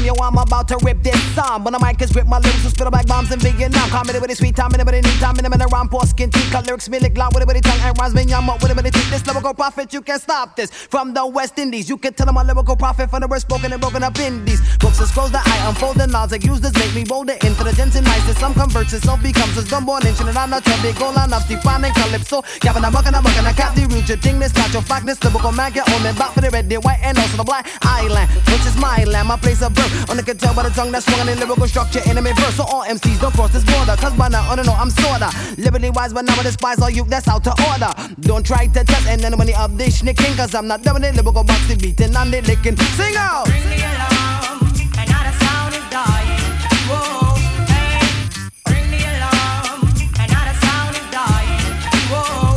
yo, I'm about to rip this song. When the mic is ripped, my lyrics will spit like bombs in Vietnam. Comedy with a sweet time, anybody need time, anybody rhyme, poor skin, teeth, cut lyrics, me lick loud with a bitty tongue, and rhymes me yum up with a bitty teeth. This lyrical prophet, you can't stop this. From the West Indies, you can tell I'm a lyrical prophet from the word spoken and broken up indies. Books and scrolls that I unfold the knowledge like use this make me bolder, intelligent and nice. Some converts itself becomes a dumb-born inch, and I'm not your big goal enough to find and calypso. Gavin, I'm bucking, I cap the root, your thing, this not your fact, lyrical man, get on me back for the red, the white, and also the black island, which is my land, my place of birth. Only can tell by the tongue that's swung in lyrical structure, enemy verse. So all MCs don't cross this border, cause by now, I don't know, I'm sorta liberty wise, but now I despise all you that's out to order. Don't try to test and then money of this nicking, cause I'm not doing it, lyrical boxy beating and they licking. Sing out! Bring the alarm, and now the sound is dying. Whoa, hey. Bring the alarm, and now the sound is dying. Whoa,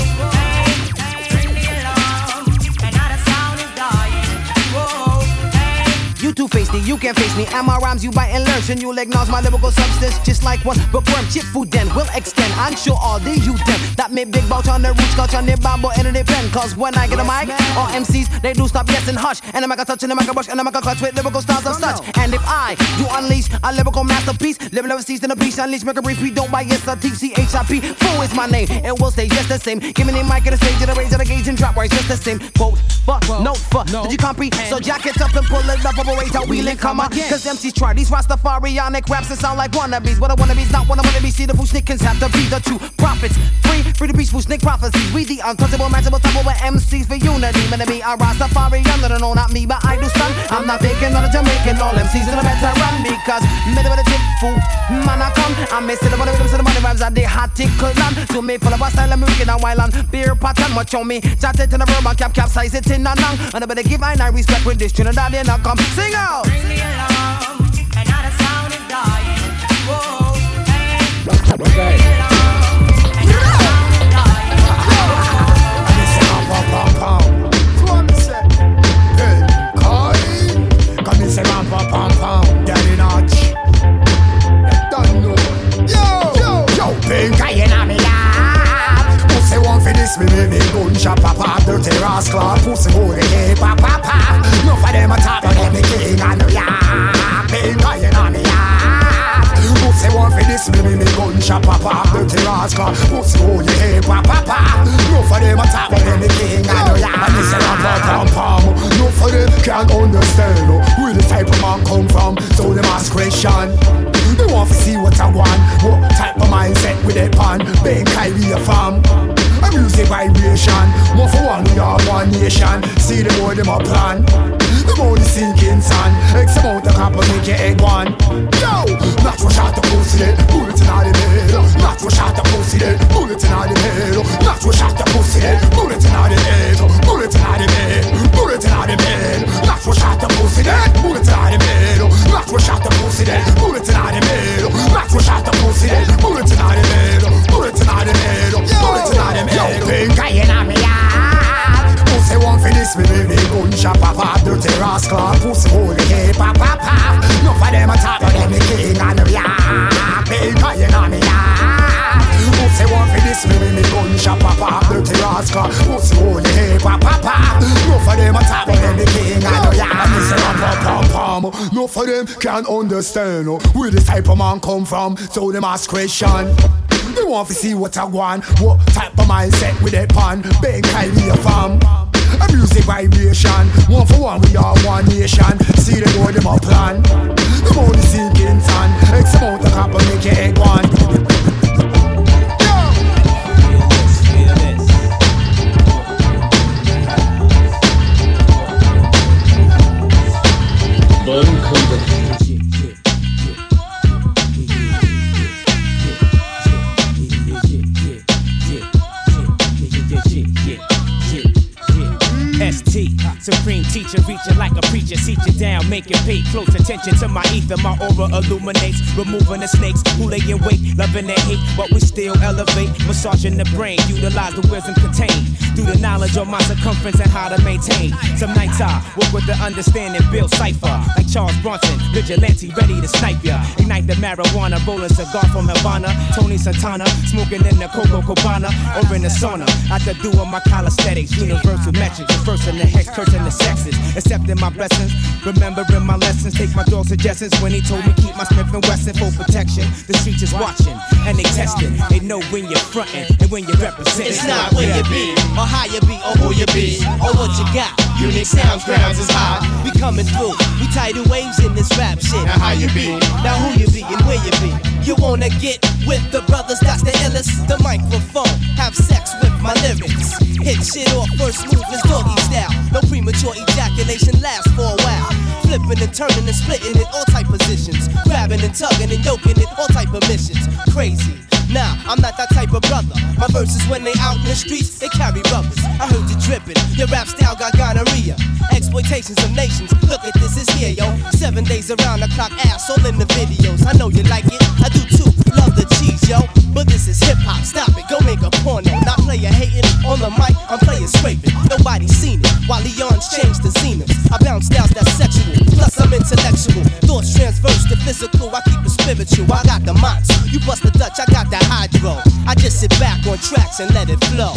hey. Bring the alarm, and now the sound is dying. Whoa, hey. You two-faced it, you can't face me. And my rhymes you bite and learn, and you'll acknowledge my lyrical substance just like one bookworm. Chip food then will extend. I'm sure all the youth them that make big bout on the roots, scotch on their bamboo and in their pen. Cause when I get a mic, all MCs they do stop yes and hush. And I make a touch and I make a brush and I make a clutch with lyrical styles of such. And if I do unleash a lyrical masterpiece, live never cease in a piece, unleash, make a brief, we don't buy yes, TCHIP. Fool is my name, it will stay just the same. Give me the mic at the stage, and the raise of the gauge and drop right just the same. Quote, note for, did you comprehend? So jack it up and pull it up, operate out, wheel and come on. Cause MCs try these Rastafarianic raps that sound like wannabes. But a wannabe's not one of wannabes. See the fool snickers have to be the true prophets. Free to be fool snick prophecies. We the untouchable, matchable, double with MCs for unity. Man to me, a Rastafarian, no, not me, but I do stun. I'm not faking, not a Jamaican, all MCs in the better run. Because middle of the tip fool, man I come. I'm missing the money rhythms and the money rhymes and they hot tickle on. To me, full of a style and music and while on beer pattern, much on me. Chat it in a verb and capsize it in a nang. And I better give I respect with this Trinidad and I come sing out. Bring the alarm, and now the sound is dying. Whoa, hey. Bring the alarm, and now the sound is dying. And they say, pom pom pom. So I'm say, hey, Kai. Come and say, pom pom pom. Daddy Notch. You don't know. Yo, pink guy in me lap. Pussy want for this, me gun shop, papa, dirty rascal. Pussy hold the hay, papa. No for them attack, but them the king and the yap. Pink guy in me lap. Pussy want for this, me gun shop, papa, dirty rascal. Pussy hold the hay, papa. No for them attack, but them the king and the yap. And they say, pom pom. No for them can't understand where the type of man come from. So them ask question. They want to see what I want, what type of mindset with that pan. Bang Kyrie a farm. A music vibration. One for one, we are one nation. See the more them a plan. The more the sinking sun. X amount of copper make your egg one. Yo, not to shot the pussy dead. Bullet in all the head. Not to shot the pussy dead. Bullet in all the head. Not to shot the pussy dead. Bullet in all the head. Bullet in all the bed. Bullet in all the bed. Not to shot the pussy dead. Bullet in all the bed. Not to shot the pussy dead. Bullet in all the bed. Not to shot the pussy dead. Bullet in all the bed. Bullet in all the bed. Bullet in all the bed. Yo, pink guy in me yard. Pussy want for this, me gun shop, papa, dirty rascal. Pussy hold the hay, papa. No for them attack, but them the king and the yard. Pink guy in me yard. Pussy want for this, me gun shop, papa, dirty rascal. Pussy hold the hay, papa. No for them attack, but them the king and the yard. And they say, pom. No for them can't understand where the type of man come from. So them ask question. They want to see what I want, what type of mindset with that pan. Bang Kyrie a farm. A music vibration. One for one, we are one nation. See the more them a plan. The more the sinking sun. X amount of copper make your egg one. Supreme teacher, reaching like a preacher, seat you down, make it pay close attention to my ether. My aura illuminates, removing the snakes who lay in wait, loving their hate, but we still elevate, massaging the brain, utilize the wisdom contained. through the knowledge of my circumference and how to maintain. Some nights I work with the understanding, build cipher like Charles Bronson, vigilante ready to snipe ya. Ignite the marijuana, rolling cigar from Havana. Tony Santana, smoking in the Coco Cabana or in the sauna. After doing my calisthenics, universal metrics, the first in the hex, cursing the sexes, accepting my blessings, remembering my lessons. Take my dog's suggestions when he told me keep my Smith & Wesson for protection. The streets is watching and they testing. They know when you're frontin' and when you're representing. It's not where you be, or how you be, or who you be, or what you got. Unique sounds, grounds is high. We coming through, we tidal waves in this rap shit. Now how you be? Now who you be and where you be? You wanna get with the brothers, that's the illest. The microphone, have sex with my lyrics. Hit shit off, first move is doggy style. No premature ejaculation lasts for a while. Flipping and turning and splitting in all type positions. Grabbing and tugging and yoking in all type of missions. Crazy. Nah, I'm not that type of brother. My verses when they out in the streets, they carry rubbers. I heard you dripping, your rap style got gonorrhea. Exploitations of nations, look at this, is here, yo. 7 days around the clock, ass all in the videos. I know you like it, I do too, love the cheese, yo. But this is hip-hop, stop it, go make a porno. Not player hating, on the mic, I'm playing scraping. Nobody's seen it, while Leon's changed the zenith. I bounce styles that's sexual, plus I'm intellectual. Thoughts transverse to physical, I keep it spiritual. I got the mots, you bust the Dutch, I got that hydro. I just sit back on tracks and let it flow.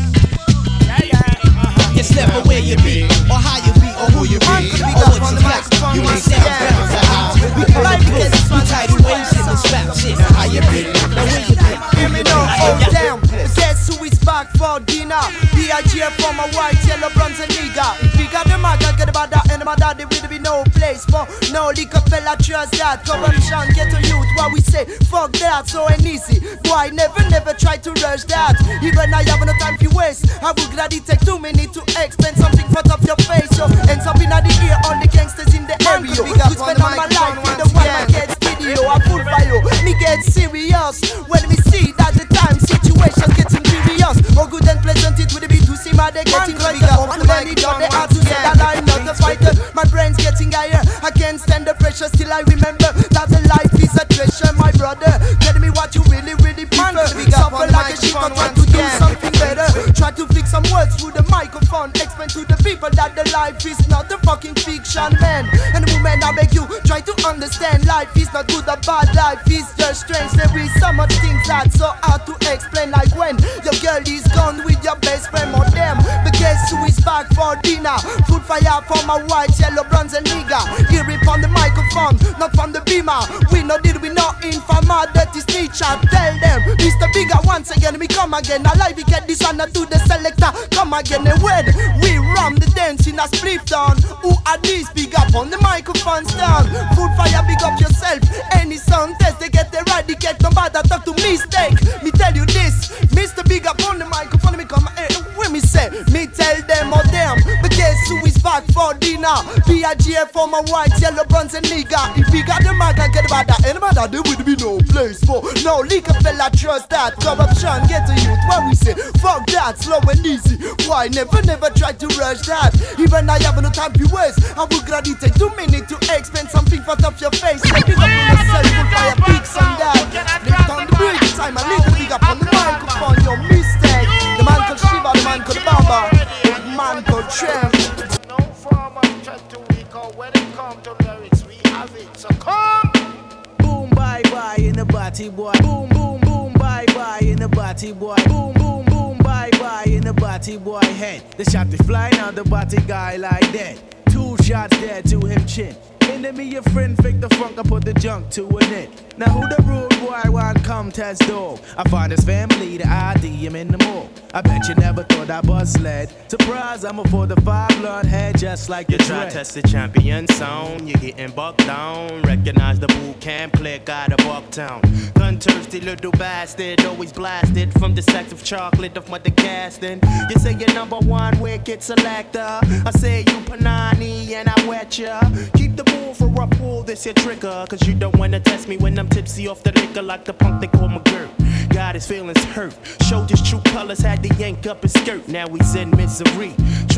It's never where you be, or how you be, or who you be, or what you got. You ain't sound grounds are high. We play this, we tidal waves in this rap shit. How you be, now where you be? Hear me now, hold down. Guess who is back for dinner? B.I.G.F. for my white, yellow, bronze and nigga. If we got the mag, I get about that, and my daddy will be no place for no liquor fella, trust that. Corruption, get to youth, what we say, fuck that, so ain't easy. Boy, never try to rush that. Even I have no time to waste. I would gladly take 2 minutes to explain something front of your face, yo. Ends up in the ear, all the gangsters in the area. You spend all my life with the one I get video, I full fire. Me get serious when me see that the time situation getting serious. All good and pleasant, it would be to see my day getting better. And then it got the heart to say that I'm not a fighter. My brain's getting higher, I can't stand the pressure. Still I remember that the life is a treasure, my brother. Tell me what you really prefer. Suffer like a sheep or try to do something better. Try to fix some words through the microphone. Explain to the people that the life is not a fucking fiction, man. And women, I beg you, try to understand. Life is not good or bad, life is just strange. There is so much things that's so hard to explain. Like when your girl is gone with your best friend or them. But guess who is back for dinner? Food fire for my white, yellow, bronze and nigga. Hear it from the microphone, not from the beamer. We know did we not informer, that is teacher. Tell them, Mr. Bigger once again, we come again. Alive, we get this honor to the selector. Come again, and when we ram the dance in a split down. Who are these? Big up on the microphone stand. Food fire, big up yourself. Any sound test, they get the eradicate. Nobody talk to mistake. Me tell you this, Mr. Big up on the microphone. Me come, when me say, me tell them or them. But guess who is back for dinner? B.I.G.F. for my white, yellow, bronze and nigga. If we got the mag, I get about that. Anybody that there would be no place for. No liquor fella, trust that. Corruption, get to youth. What we say, fuck that, slow and easy. Why never try to rush that? Even I have no time to waste. I will gladly take 2 minutes to explain something front of your face. Let me up on yourself, full fire, pics on that. Lift on the bridge, time I need to big up on the microphone. Your mistake. The man called Shiva, the man called Baba, the man called Trem. No form of chat to weak or when it comes to lyrics, we have it. So come. Boom, bye bye in the body boy. Boom, boom, boom, bye bye in the body boy. Boom, boom, boom, bye bye in the body boy head. The shot is flying out the body guy like that. 2 shots there to him chin. Enemy your friend, fake the funk, I put the junk to an end. Now who the rude boy want come test dog? I find his family, the ID, him in the mall. I bet you never thought I was led. Surprise, I'm a 4-5 blood head, just like you the try dread. test the champion sound, you're getting bucked down. Recognize the boot camp click out of Bucktown. Gun thirsty little bastard, always blasted from the sacks of chocolate of mother casting. You say you're #1 wicked selector. I say you Panani and I wet ya. Keep the bull for a pull, this your trigger. Cause you don't wanna test me when I'm tipsy off the liquor like the punk they call McGirt. Got his feelings hurt. Showed his true colors, had to yank up his skirt. Now he's in misery.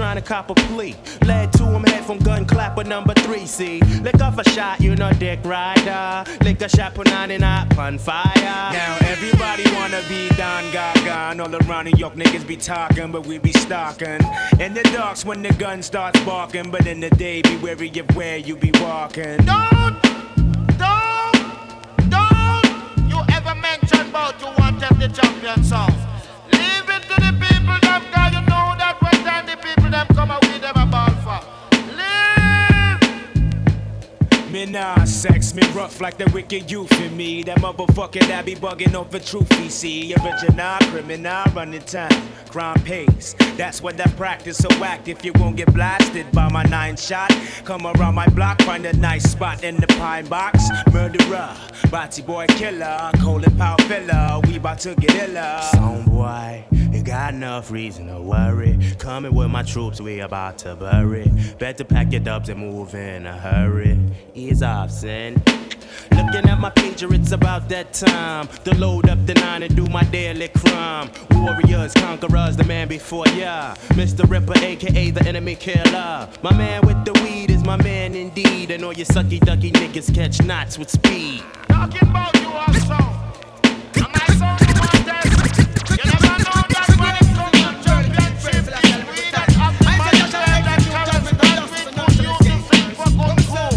trying to cop a plea. Led to him head from gun clapper number 3, see. Lick off a shot, you know, dick rider. Lick a shot, put 99 on fire. Now everybody wanna be Don Gaga. All around New York niggas be talking, but we be stalking. In the darks when the gun starts barking, but in the day be wary of where you be walking. Don't you ever mention about you want to the champion song. Leave it to the people, them guys, you know that when time the people them come out with them a ball for. Me nah sex, me rough like the wicked youth in me. That motherfucker that be bugging off the truth, he see. Original criminal running time, crime pays. That's what I practice, so act if you won't get blasted by my 9 shot. Come around my block, find a nice spot in the pine box. Murderer, body boy killer, Colin Powell filler, we bout to get iller. Some boy, you got enough reason to worry. Coming with my troops, we about to bury. Better pack your dubs and move in a hurry. Ease off, son. Looking at my pager, it's about that time to load up the 9 and do my daily crime. Warriors, conquerors, the man before ya. Mr. Ripper, aka the enemy killer. My man with the weed is my man indeed. And all you sucky ducky niggas catch knots with speed. Talking about you also. And my song you want this. You never know that when it comes to championship, we that have the money that carries that we put you to sing for good food.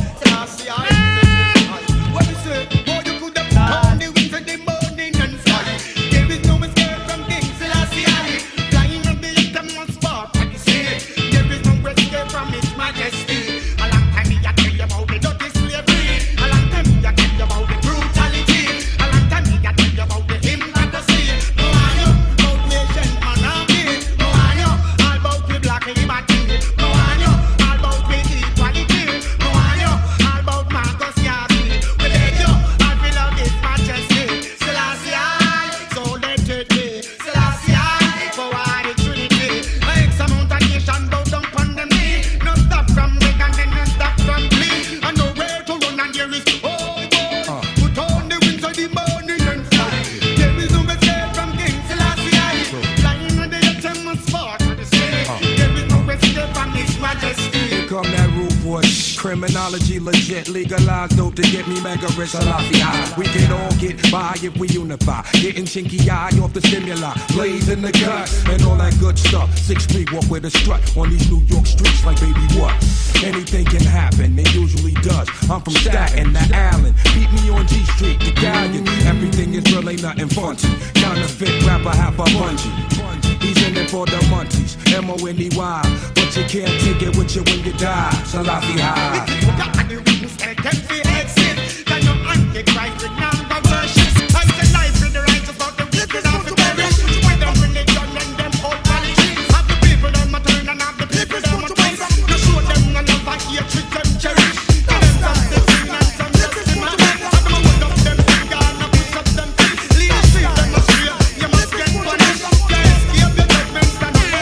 What we say? Oh, you could have found the winds of the morning and fly. There is no escape from King Selassie. Flying on the uttermost spot, what you say? There is no escape from His Majesty. A long time me a tell you about the dirty slavery. A long time me a tell you about the brutality. A long time me a tell you about the hypocrisy. No I know about nation monarchy. No I know all about the black liberty. No I know all about the equality. No I know all about Marcus Garvey. We let you all below His Majesty. Selassie I, so let it be. Selassie I, for all the Trinity. X amount of nation bow down upon them knee. No stop from Rick and then no stop from Glee. And nowhere to run and there is oh boy. Put on the wings of the morning and fly. There is no escape from King Selassie I. Flying on the uttermost spot for the sky. There is no escape from His Majesty. Here come that rude boy. Criminology legit, legalized dope to get me mega rich. Salafia. We can all get by if we unify. Getting chinky eye off the stimuli, blaze in the gut, and all that good stuff. 6 feet walk with a strut on these New York streets like baby what? Anything can happen, it usually does. I'm from Staten to Allen. Beat me on G Street, the Galleon. Everything is real, ain't nothing funky. Counterfeit rapper, half a bungee. He's in it for the munchies, M-O-N-E-Y. But you can't take it with you when you die. Salafi high. You got the witness and can see exit. Can your antichrist with number worship? I say life with the righteous, but the wicked have to perish. With them religion and them old politics. Have the people them a turn and have the people them a twist. You show them a love and hatred them cherish. Them some sin and some just in my head. And them a hold up them finger and a push up them feet. Lead the street them a straight, you must get punished. You escape the judgments and the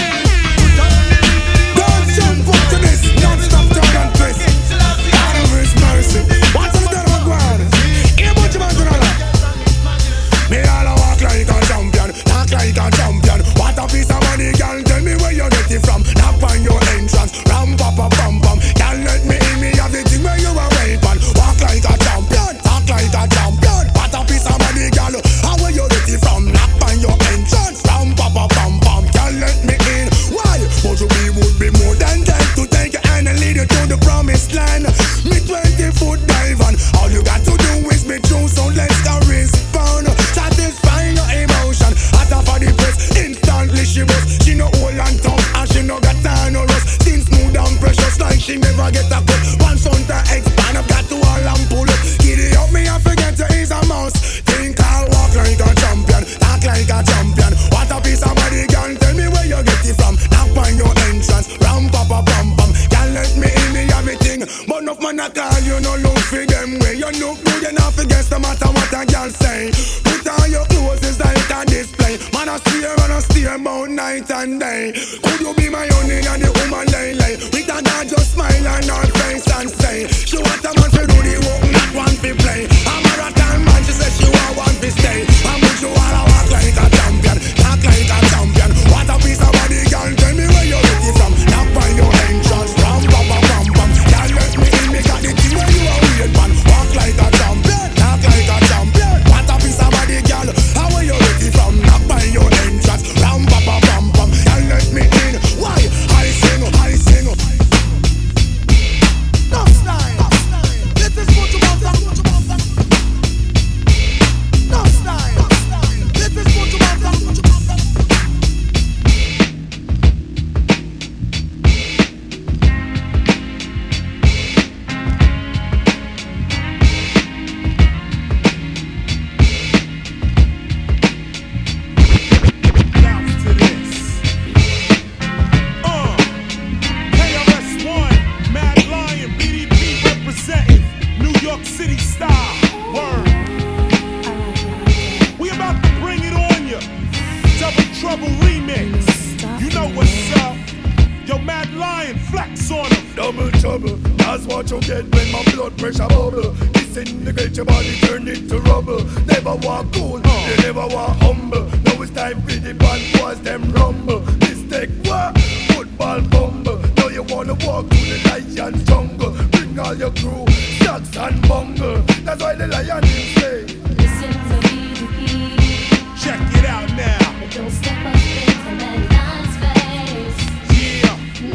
don't jump up to this, non-stop turn and twist. Out of His mercy. What's the devil going? Here much man to know. Me all a walk like a champion, talk like a champion. What a piece of money, girl, tell me where you get it from. Knock on your entrance, ram pa pa pam pam. Can't let me in, me have the thing where you are waiting. Walk like a champion, talk like a champion. What a piece of money, girl, how where you get it from? Knock on your entrance, ram pa pa pam pam. Can't let me in, why? But you would be more than dead to take your hand and lead you to the promised land. Me 20-foot dive on, all you got to do is be true, so let's go respond. Satisfy your emotion, at her for the press, instantly she was. She no old and tough, and she no got time no rust. Skin smooth and precious like she never get a cut. Once on to expand, I've got to all and pull up. Giddy up me, I forget to ease a mouse. Think I'll walk like a champion, talk like a champion. What a piece of body, girl, tell me where you get it from. Knock on your entrance, ram pa pa pam pam. Can't let me in, me everything. But enough man a call, you no look for them way. You look good enough against no matter what a girl say. Put on your clothes, it's like a display. Man a steer about night and day. Could you be my honey and the woman lay? With a dad just smile on her face and say she want a man to do the work, not one to play. A marathon man, she said she want one to stay. And would you wanna walk like a champion, talk like a champion? What a piece of body, girl, tell me where you get it from. playing flex on them. Double trouble, that's what you get when my blood pressure bubble. Disintegrate your body, turn into rubble. Never walk cool, you never walk humble. Now it's time for the bad boys, them rumble. Mistake what? Football bumble. Now you wanna walk through the lion jungle. Bring all your crew, stocks and bungle. That's why the lion is say. Listen to me. Check it out now. But don't step up into man's face. Yeah.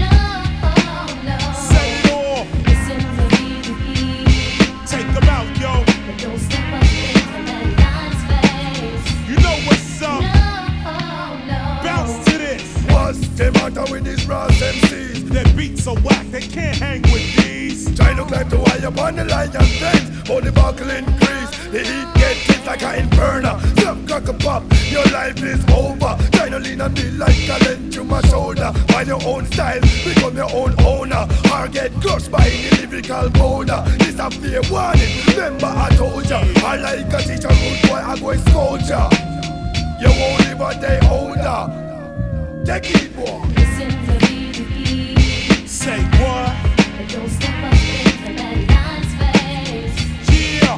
No. Set it off. Listen to me. Take them out, yo. But don't step up into man's face. You know what's up. No. Bounce to this. What's the matter with these Ross MCs? Their beats are whack, they can't hang with these. Trying to climb the wire upon the lion fence. All the buckle increase. The heat get hit like an inferno. Stop, cock a pop, your life is over. Trying to lean on me like a lent to my shoulder. Find your own style, become your own owner. Or get crushed by the lyrical boulder. This a fair warning, remember I told ya. I like a teacher, good boy, I go scold ya. You won't live a day older. Take it, boy. Listen to me. Say what? But don't step up into man's face. Yeah.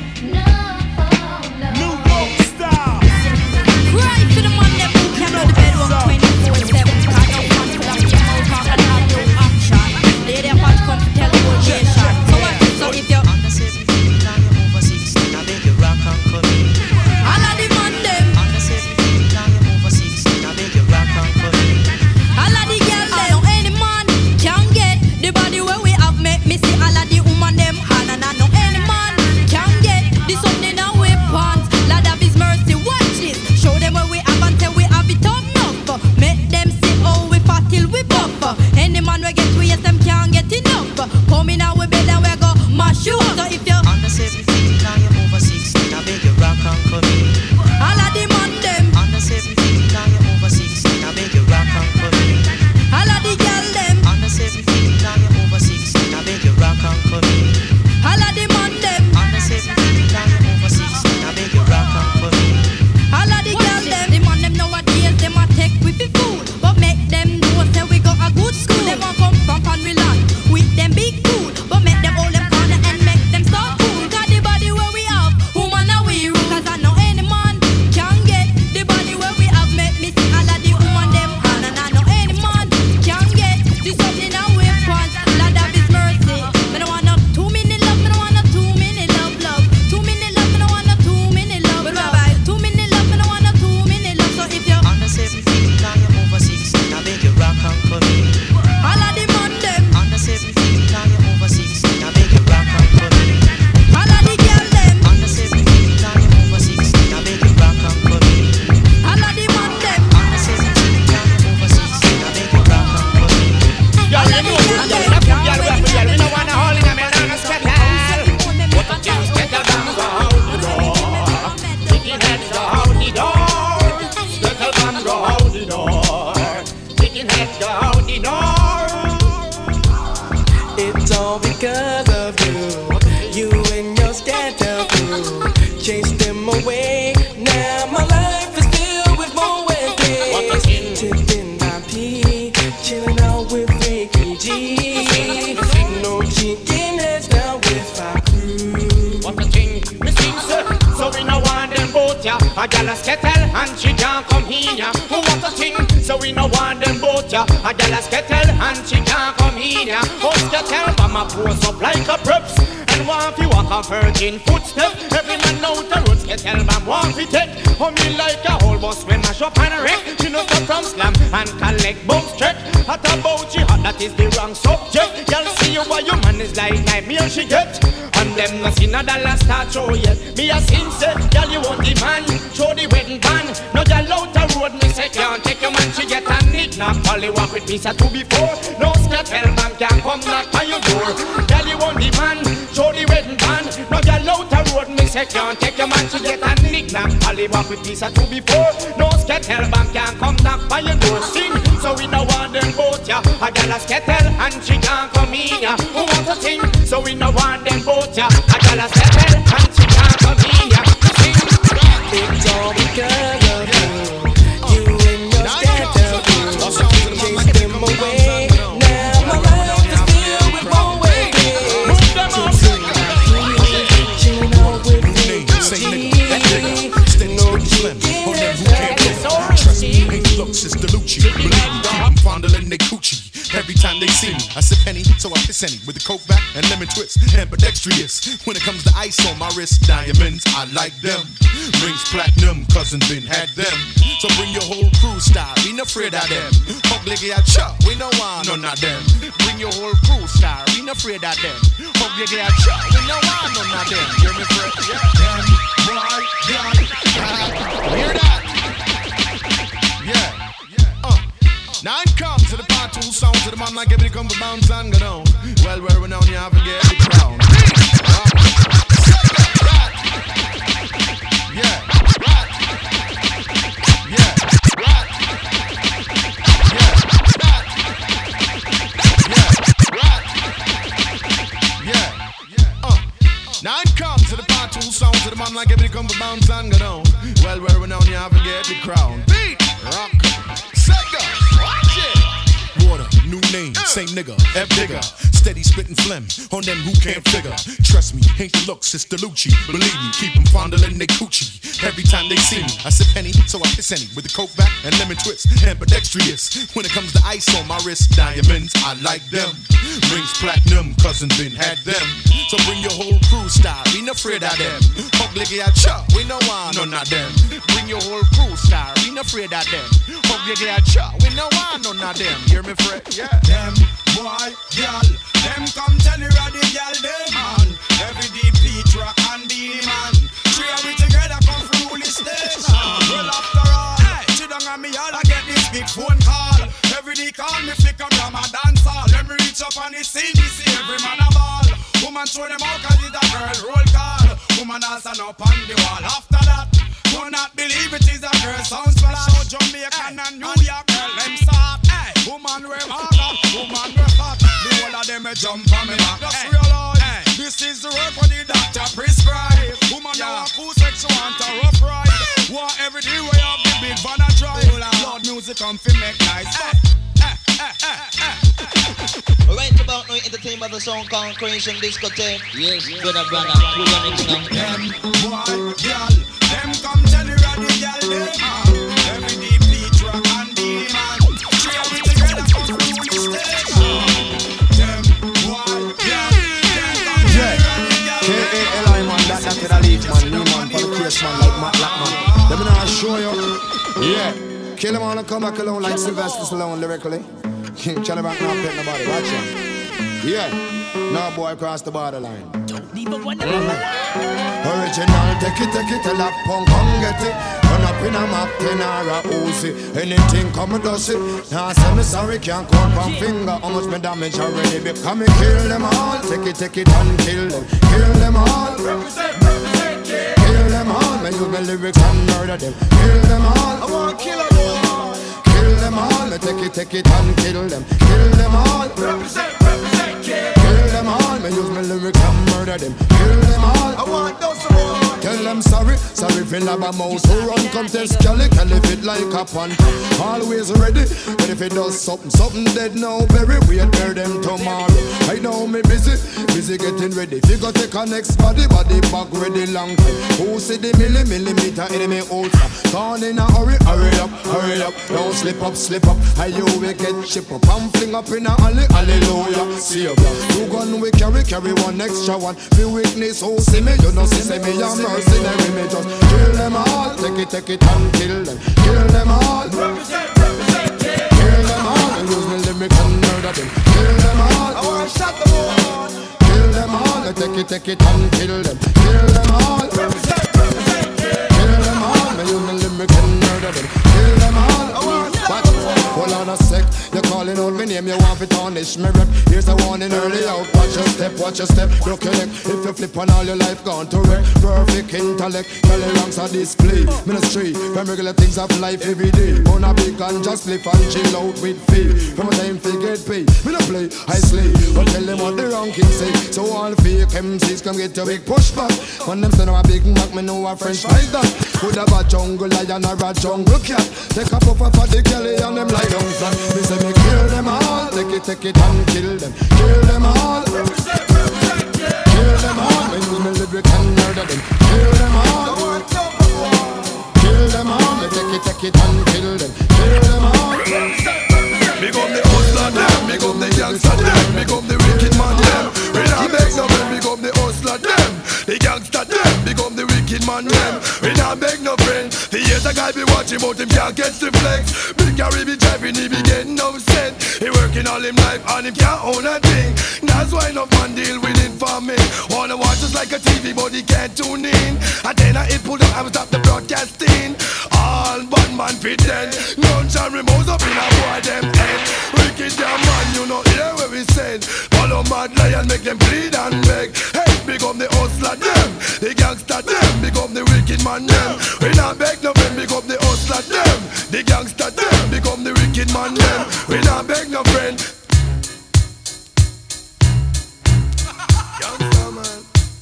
No. New York style. Right to the man that who can know the bedroom 24/7. I don't want to lock your mouth and have no action. They there want to come to tell you location. So what? So if you're Under 17, now you're over 16. I beg you rock and come in. all of the man them, Under 17, now you're over 16. I beg you rock and come in. all of the girl them. Now any man can get the body where we have. Make me see all of the woman them. And no any man can get the something that we pants. Lord of His mercy, watch it. Show them where we have until we have it up enough. Make them see how we fat till we buff. Any man we get to yes them can't get enough. Come in our bed and we go mash you up. So if you Under 17, now you're over 16. I beg you rock and come in. all of the man them, Under 17, now you're over 16. I beg you rock and come in. all of the girl them, Under 17, now you're over 16. I beg you rock and come in. all of the man them, Under 17, now you're over 16. I beg you rock and come in. all of the girl them. The man them nowadays them a take with the food, but make them know say we got a good school. Them a come from Panwiland with them big food, but make them hold them corner and make them start cool. Cause the body where we have, woman a we rule. Cause I know any man can get the body where we have. Make me see all of the woman them. And I know any man can get the something that we want. Lord of His mercy. Me no want no 2 minute love. Me no want no 2 minute love. 2 minute love. Me no want no 2 minute love. 2 minute love. Me no want no 2 minute love. So if you Under 17, now you're over 16. I beg you rock and come in. all of the man them, Under 17, now you're over 16. I beg you rock and come in. all of the girl them, Under 17, now you're over 16. I beg you rock and come in. all of the man them, Under 17, now you're over 16. I beg you rock and come in. all of the girl them. We don't wanna hold in a man on a spectacle. What the things get the bang go out the door. Chicken heads go out the door. Spectacle bang go out the door. Chicken heads go out the door. It's all because of you. You and your stand-up crew chased them away. Now my life is filled with more What the weddings. thing? Tipping my pee, chilling out with Ricky G. No chicken heads down with our crew. What the thing? Me sing sir. So we no want them both ya. A gal a skettle and she can't come here. What the thing? So we no want them both ya. A gal a skettle and she can't come here. Oh skettle, but my pose up like a preps. And want fi walk a virgin footstep. Every man know the road skettle, but want fi take. Oh me like a whole bus when mash up and wreck. She no stop from slam and collect bounce check. At about jihad, that is the wrong subject. Y'all see you why your man is like nightmare she get. And them no see no dollar start show yet. Me a sin say, y'all you want the man, show the wedding band. No y'all out the road, me say can't take your man, she get a nick. Now Polly walk with me, say two before. No skettle man can come knock on your door. Y'all you want the man, show the wedding band. No y'all out the road, me say can't take your man, she get a nick. Now Polly walk with me, say two before. No skettle man can come knock on your door. Sing, so we no want them both ya. A gal a skettle and she can't come in ya. Who want to sing? So we no want them both ya. A gal a skettle and she can't come in ya. Sing. It's all because of you. You and your stand-up crew chased them away. Now my life Pissani with the coke back and lemon twist. Ambidextrous when it comes to ice on my wrist. Diamonds, I like them. Rings platinum, cousin Ben had them. So bring your whole crew style, we no afraid of them. Ugly a chop, we no want none of them. Bring your whole crew style, we no afraid of them. Ugly a chop, we no want none of them. Hear me, Fred? Yeah. Them, boy, girl. Hear that? Yeah. Now it comes to the part 2 sound to the man like everybody come for bounce and go down. Well, where we now you have to get the crown. Yeah. Now it comes to the part 2 sound to the man like everybody come for bounce and go down. Well, where we now you have to get the crown. Beat, rock, Sega, watch it. Water, new name, same nigga, F digger. Steady spitting phlegm on them who can't figure. Trust me, ain't the looks, it's the Lucci. Believe me, keep them fondling they coochie. Every time they see me, I sip Henny, so I piss any with the coke back and lemon twist. Ambidextrous when it comes to ice on my wrist. Diamonds, I like them. Rings platinum, cousin Ben had them. So bring your whole crew style, we no afraid of them. Ugly a chop, we no want none of them. Bring your whole crew style, we no afraid of them. Ugly a chop, we no want none of them. Hear me, Fred? Yeah. Them boy, girl, them come tell you how the girl them man. Every DP track and the man. Three of we together come from rule the station. Well after all, sit down on me all I get this big phone call. Every day call me flick up from a dance hall. Let me reach up on the scene, me see every man a ball. Woman throw them out cause it's a girl roll call. Woman all stand up on the wall. After that, do not believe it is a girl sound splash. Out Jamaican and New York girl them start. Woman wear harder, woman wear fat. The whole of them a jump on me back. Just realize, this is the work when the doctor prescribe. Woman now a cool sex, she want a rough ride. Want every day we have the big van a drive. Loud music come fi make nice. Right about now, entertainment of the song called Creation Discotheque. Yes, brother, who run it now? Them boy, girl, them come tell you how the girl them are. Every DP track and the man. Three of we together come from the station. Them boy, girl, them come tell you how the girl them are. K-A-L-I man, that's the lead man, new man, for the case man, like Matt Blackman. Let me now show you. Yeah, kill him on and come back alone like Sylvester Stallone lyrically. King Charlie back now pet nobody, watch him. Yeah, now boy cross the borderline. Don't even want to Original, take it, tell that punk, come get it. Run up in a Mac 10 or a Uzi. Anything come and does it. Now say me sorry, can't count one finger. How much me damage already become me kill them all. Take it and kill them. Kill them all. Kill them all. Me use my lyrics and murder them. Kill them all. I want to kill them all. Kill them all. Me take it and kill them. Kill them all. Kill them all. Me use my lyrics and murder them. Kill them all. I want those all. Tell them sorry for lab a mouse who run contest. Kelly fit like a panther. Always ready, but if it does something dead now, very weird, bear them tomorrow. I know me busy getting ready. If you go take a next body back ready long time. Who see the millimeter enemy ultra? Gone in a hurry up. Don't slip up. How you will get chip up and fling up in a alley, hallelujah. See you, two gun we carry one extra one. Me weakness, who see me, you know see me, I'm mercenary, me just kill them all. Take it and kill them. Kill them all. Kill them all. And use me lyrics and murder them. Kill them all. I want to shot them all. Kill them all. Take it and kill them. Kill them all. Kill them all. Me use me lyrics and murder them. Kill them all. I want to shot them all. Hold on a sec, you're calling out my name, you want to tarnish me rep. Here's a warning early out, watch your step, look your neck. If you flip on all your life, gone to wreck. Perfect intellect, Kelly ranks are display. Ministry, from regular things of life every day. On a big and just flip and chill out with faith. From a time to get paid, me no play, I slay. But tell them what the wrong king say. So all fake MCs come get your big pushback. When them send a big knock, me know a French like that. Could have a jungle lion or a jungle cat. Take a puff for the Kelly and them like down flat. Me say me kill them all. Take it and kill them. Kill them all. Kill them all. Me use me lyrics and murder them. Kill them all. Kill them all. Me take it and kill them. Kill them all. Big up the hustler them, big up the gangster them, big up the wicked man him out, him can't catch the flex. Big Harry be driving, he be getting upset. He working all him life and him can't own a thing. That's why enough man deal with it for me. Wanna watch us like a TV, but he can't tune in. And then I hit pull up, I will stop the broadcasting. All bad man fit dead. Guns and remotes up in a boy them head. Wicked damn man, you know hear what we said. Follow mad lion, make them bleed and beg. Hey, big up the hustler them, the gangster them. Big up the wicked man them. We not beg no friend, big up the hustler them, the gangster them. Big up the wicked man them. We not beg no friend. Gangster man.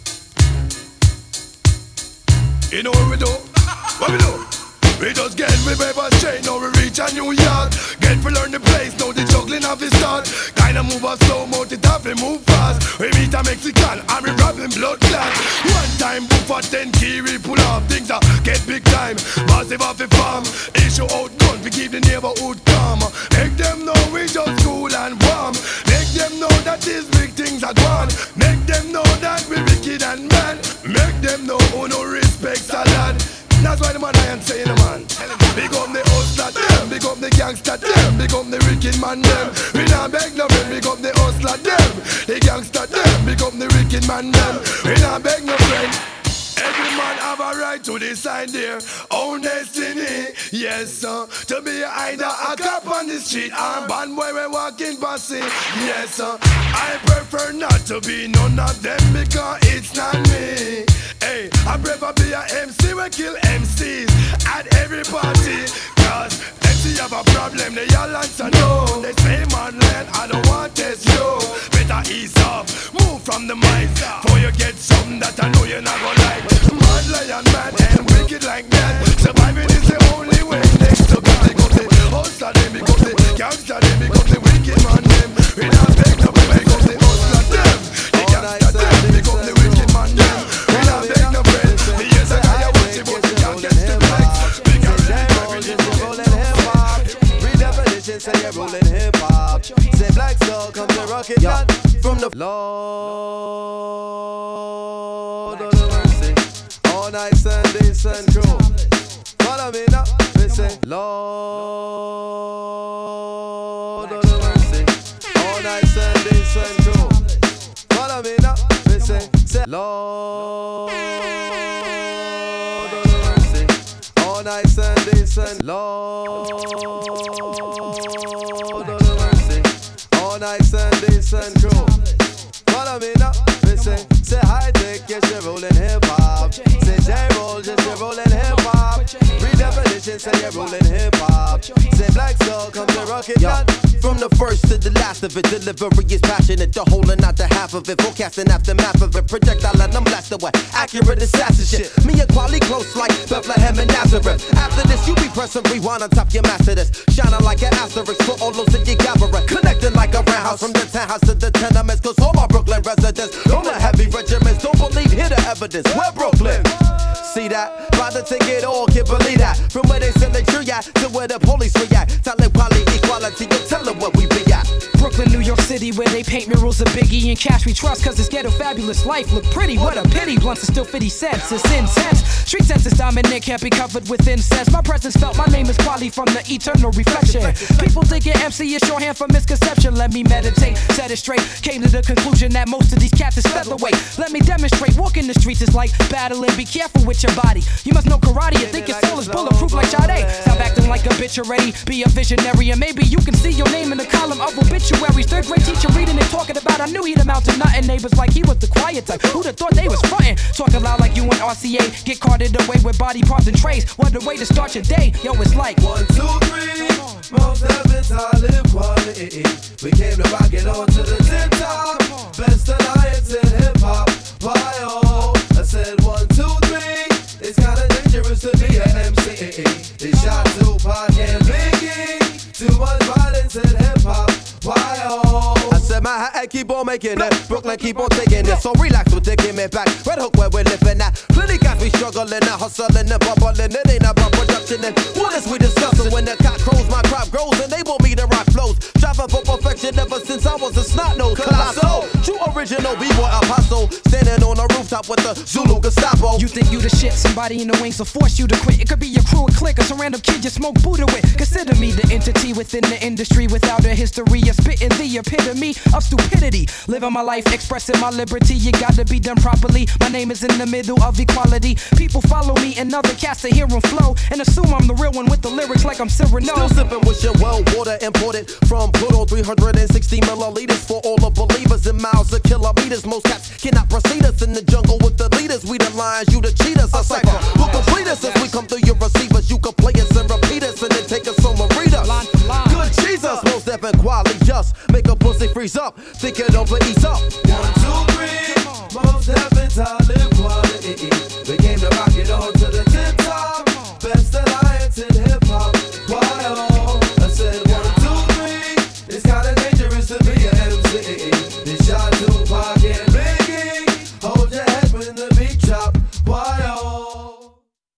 You know what we do? What we do? We just get we paper straight, now we reach a New York. Get to learn the place, now the juggling of the start. Kinda move us slow, mount it off, we move fast. We meet a Mexican, and we robbing blood clot. One time, book for 10 key, we pull off. Things are get big time, massive off the farm. Issue out gun, we keep the neighborhood calm. Make them know we just cool and warm. Make them know that these big things are gone. Make them know that we wicked and bad. Make them know who no respects a lad. That's why the man I am saying, man. Big up the hustler them, big up the gangster them, big up the wicked man them. We not beg no friend, big up the hustler them, the gangster them, big up the wicked man them. We not beg no friend. Every man have a right to decide their own destiny. Yes, sir. To be either a cop on the street or a bad boy we walking past it. Yes, sir. I prefer not to be none of them because it's not me. Hey, I prefer be a MC we kill MCs at every party. Cause MC have a problem, they all answer no. They say man land, I don't want this yo. Better ease off, move from the mic. Before you get something that I know you're not gonna like. Mad lion man and wicked like that. Surviving is the only way. Next to God, they got the hustler, they become the gangster, they become the wicked man them. We not beg no, we make up the hustler them, the gangster them, they become the wicked man them. We not beg no friend. The years I got you watching, but you can't get the flex. Redefinition say you're rolling hip hop. Say Black Soul come to rock it down from the Lord of the mercy. All night Sundays and crew. Follow me now, we say Lord of the mercy. All night Sundays and crew. Follow me now, we say Lord of the mercy. All night Sundays and Lord of the mercy. All night Sundays and crew. Follow me now, we say high tech, yes you're rolling hip hop. Say J-Roll, yes you're rolling hip hop. Redefinition, say you're rolling hip hop. Say Black Soul, come to rock it down. From the first to the last of it, delivery is passionate. The whole and not the half of it. Forecasting aftermath of it. Projectile and I'm blasted away. Accurate assassin shit. Me and Quali close like Bethlehem and Nazareth. After this, you be pressing rewind on top your master this. Shining like an asterisk for all those that you gather. Connecting like a roundhouse from the townhouse to the tenements. Cause all my Brooklyn residents, all the heavy regiments, don't believe, hear the evidence. We're Brooklyn. See that? By the ticket, all can't believe that. From where they send the tree at to where the police react. Tell it quality, equality, you tell them what we be at. Brooklyn, New York City, where they paint murals of Biggie and Cash we trust. Cause this ghetto fabulous life look pretty. What a pity, blunts are still 50 cents. It's intense. Street sense is dominant, can't be covered with incense. My presence felt, my name is Quali from the eternal reflection. People thinking MC is shorthand for misconception. Let me meditate, set it straight. Came to the conclusion that most of these cats is featherweight. Let me demonstrate, walking the streets is like battling. Be careful with your body. You must know karate and think your soul is bulletproof like Sade. Stop acting like a bitch already. Be a visionary and maybe you can see your name in the column of obituaries. Third grade teacher reading and talking about I knew he'd amount to nothing. Neighbors like he was the quiet type. Who'd have thought they was frontin'? Talking loud like you and RCA. Get carted away with body parts and trays. What a way to start your day. Yo, it's like 1, 2, 3. Most heavens I live quality. We came to rock it on to the tip top. Best alliance in hip hop. Why oh? I said 1, 2, 3. It's kinda dangerous to be an MC. They shot Tupac and Biggie. Too much violence in hip hop. Why oh? I said Manhattan keep on making it, Brooklyn keep on taking it. So relax, we're taking it back. Red Hook where we're living at. Plenty guys we struggling and hustling and bubbling. It ain't about production and what is we discussing? When the cock crows, my crop grows and they want me to rock flows. Driving for perfection ever since I was a snot nose. Colossal, true original B-boy apostle, standing on a rooftop with the Zulu Gestapo. You think you the shit, somebody in the wings will force you to quit. It could be your crew, a clique, or some random kid you smoke Buddha with. Consider me the entity within the industry without a history of spitting the epitome of stupidity. Living my life, expressing my liberty, you gotta be done properly. My name is in the middle of equality. People follow me and other cats to hear them flow and assume I'm the real one with the lyrics like I'm Cyrano. Still sipping with your well water imported from Pluto, 360 milliliters for all the believers in miles of kilometers. Most cats cannot proceed us in the jungle with the leaders. We the lions, you the cheaters. A cipher who complete us as we come through your receivers. You can play us and repeat us and then take us on and read us. Good Jesus, most deaf and quality just make a pussy freeze up. Think it over, ease up. 1,